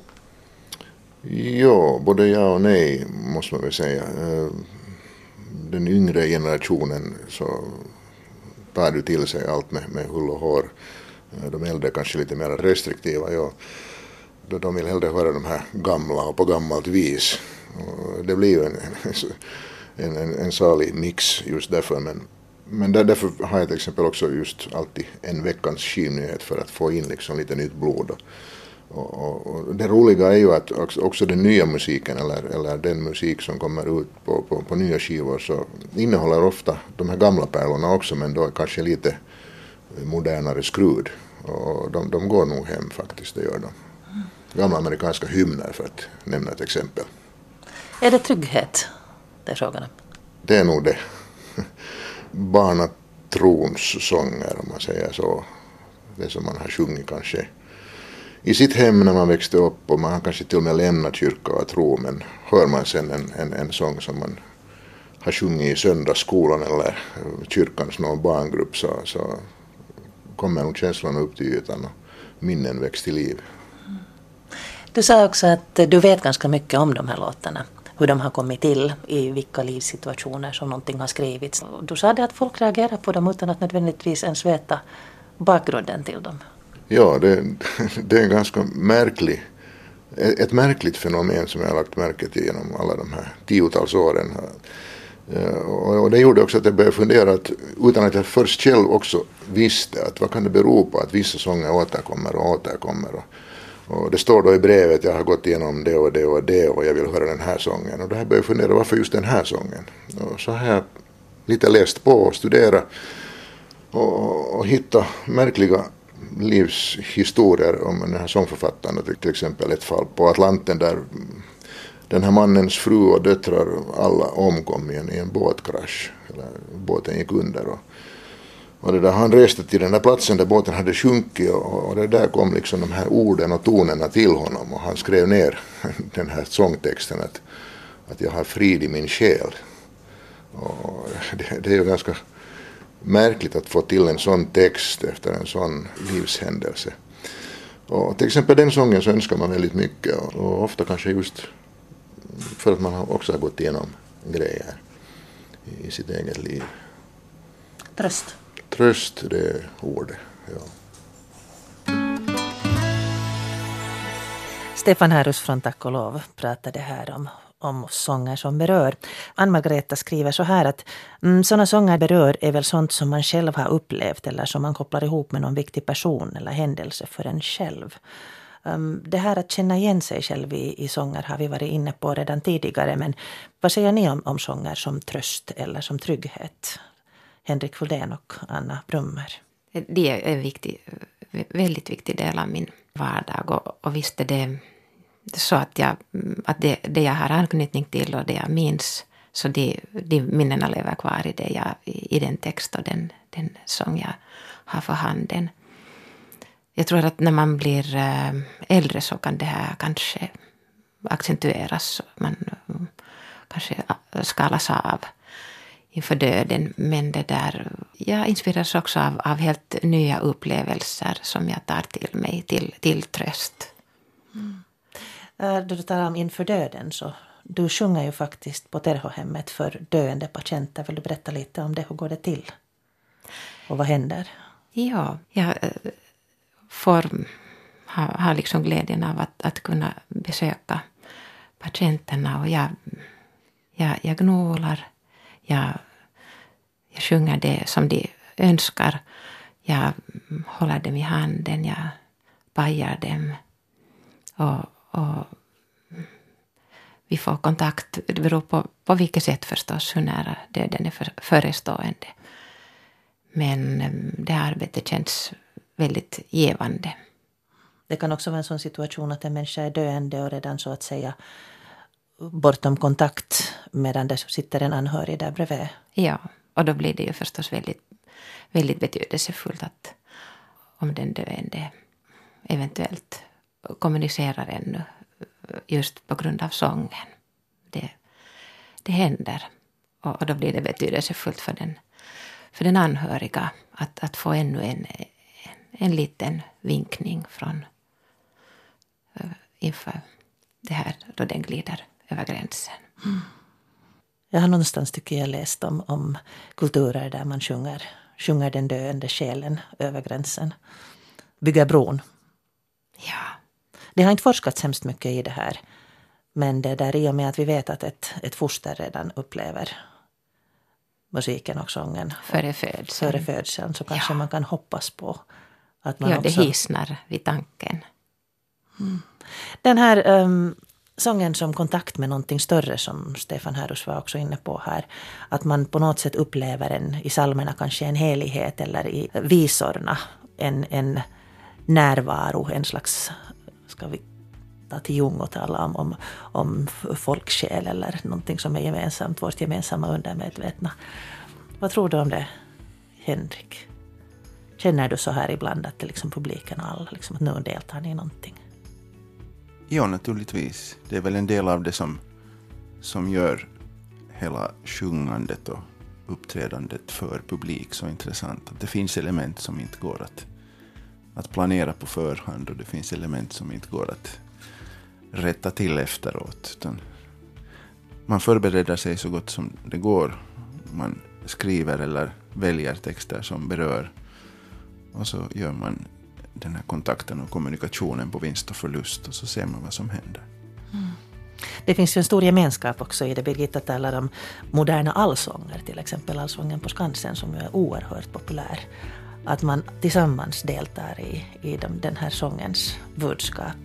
[SPEAKER 6] Ja, både ja och nej måste man väl säga. Den yngre generationen så tar du till sig allt med hull och hår. De äldre kanske lite mer restriktiva. Ja. De vill hellre höra de här gamla och på gammalt vis. Och det blir ju en salig mix just därför. Men därför har jag till exempel också just alltid en veckans skivnyhet för att få in liksom lite nytt blod. Och det roliga är ju att också den nya musiken eller den musik som kommer ut på nya skivor så innehåller ofta de här gamla pärlorna också, men då kanske lite modernare skrud. Och de går nog hem faktiskt, det gör de. Gamla amerikanska hymner för att nämna ett exempel.
[SPEAKER 1] Är det trygghet det är frågan om?
[SPEAKER 6] Det är nog det. Barnatrons sånger om man säger så. Det som man har sjungit kanske i sitt hem när man växte upp, och man har kanske till och med lämnat kyrka och tro, men hör man sen en sång som man har sjungit i söndagsskolan eller kyrkans någon barngrupp så kommer nog känslorna upp till ytan och minnen väcks till liv.
[SPEAKER 1] Du sa också att du vet ganska mycket om de här låtarna, hur de har kommit till, i vilka livssituationer som någonting har skrivits. Du sa det att folk reagerar på dem utan att nödvändigtvis ens veta bakgrunden till dem.
[SPEAKER 6] Ja, det är en ganska ett märkligt fenomen som jag har lagt märke till genom alla de här 10-tals åren. Och det gjorde också att jag började fundera utan att jag först själv också visste att vad kan det bero på att vissa sånger återkommer. Och det står då i brevet, jag har gått igenom det och det och det och jag vill höra den här sången. Och då har jag börjat fundera, varför just den här sången? Och så har jag lite läst på och studerat och hittat märkliga livshistorier om den här sångförfattaren. Till exempel ett fall på Atlanten där den här mannens fru och döttrar alla omkom i en båtkrasch. Eller båten gick under och det där, han reste till den där platsen där båten hade sjunkit och det där kom liksom de här orden och tonerna till honom och han skrev ner den här sångtexten att jag har frid i min själ. Och det är ju ganska märkligt att få till en sån text efter en sån livshändelse. Och till exempel den sången så önskar man väldigt mycket och ofta kanske just för att man också har gått igenom grejer i sitt eget liv.
[SPEAKER 1] Tröst.
[SPEAKER 6] tröst, det är ordet. Ja.
[SPEAKER 1] Stefan Härus från Tack och lov pratade här om sånger som berör. Ann-Margareta skriver så här att sådana sånger berör är väl sånt som man själv har upplevt eller som man kopplar ihop med någon viktig person eller händelse för en själv. Det här att känna igen sig själv i sånger har vi varit inne på redan tidigare, men vad säger ni om sånger som tröst eller som trygghet? Henrik Fuldén och Anna Brummer.
[SPEAKER 2] Det är en väldigt viktig del av min vardag och visst är det så att det jag har anknytning till och det jag minns, så de minnena lever kvar i den text och den sång jag har för handen. Jag tror att när man blir äldre så kan det här kanske accentueras. Man kanske skalas av inför döden. Men jag inspireras också av helt nya upplevelser som jag tar till mig till tröst.
[SPEAKER 1] Då du talar om inför döden, så du sjunger ju faktiskt på Terhohemmet för döende patienter. Vill du berätta lite om det? Hur går det till? Och vad händer?
[SPEAKER 2] Ja, jag har liksom glädjen av att kunna besöka patienterna och jag gnolar, jag sjunger det som de önskar, jag håller dem i handen, jag pajar dem och vi får kontakt. Det beror på vilket sätt förstås, hur nära döden är förestående. Men det här arbetet känns väldigt givande.
[SPEAKER 1] Det kan också vara en sån situation att en människa är döende och redan så att säga bortom kontakt medan det sitter en anhörig där bredvid.
[SPEAKER 2] Ja, och då blir det ju förstås väldigt, väldigt betydelsefullt att om den döende eventuellt kommunicerar ännu just på grund av sången. Det händer och då blir det betydelsefullt för den anhöriga att få ännu en liten vinkning från inför det här då den glider över gränsen.
[SPEAKER 1] Jag har någonstans tycker jag läst om kulturer där man sjunger den döende själen över gränsen. Bygga bron.
[SPEAKER 2] Ja.
[SPEAKER 1] Det har inte forskats hemskt mycket i det här. Men det där i och med att vi vet att ett foster redan upplever musiken och sången
[SPEAKER 2] Före
[SPEAKER 1] födseln så kanske man kan hoppas på att man också...
[SPEAKER 2] Ja, det hisnar vid tanken.
[SPEAKER 1] Den här sången som kontakt med någonting större som Stefan Härus var också inne på här. Att man på något sätt upplever i psalmerna kanske en helighet eller i visorna en närvaro, en slags, ska vi ta till Jung och tala om folksjäl eller någonting som är gemensamt, vårt gemensamma undermedvetna. Vad tror du om det, Henrik? Känner du så här ibland att det liksom publiken och alla liksom, att nu deltar ni i någonting?
[SPEAKER 3] Ja, naturligtvis. Det är väl en del av det som gör hela sjungandet och uppträdandet för publik så intressant. Att det finns element som inte går att planera på förhand och det finns element som inte går att rätta till efteråt. Utan man förbereder sig så gott som det går. Man skriver eller väljer texter som berör och så gör man den här kontakten och kommunikationen på vinst och förlust och så ser man vad som händer.
[SPEAKER 1] Det finns ju en stor gemenskap också i det. Birgitta talar om moderna allsånger, till exempel allsången på Skansen som är oerhört populär. Att man tillsammans deltar i den här sångens budskap.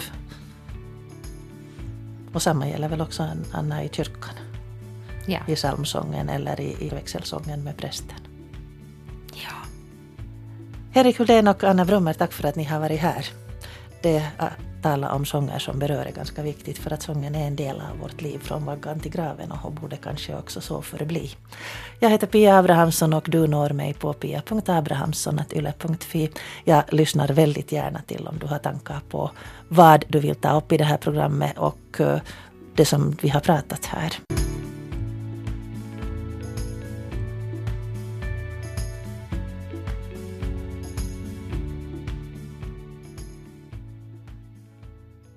[SPEAKER 1] Och samma gäller väl också Anna i kyrkan.
[SPEAKER 2] Ja.
[SPEAKER 1] I psalmsången eller i växelsången med prästen.
[SPEAKER 2] Ja.
[SPEAKER 1] Henrik Fuldén och Anna Brummer, tack för att ni har varit här. Det att tala om sånger som berör är ganska viktigt för att sången är en del av vårt liv från vaggan till graven och borde kanske också så förbli. Jag heter Pia Abrahamsson och du når mig på pia.abrahamsson@yle.fi. Jag lyssnar väldigt gärna till om du har tankar på vad du vill ta upp i det här programmet och det som vi har pratat här.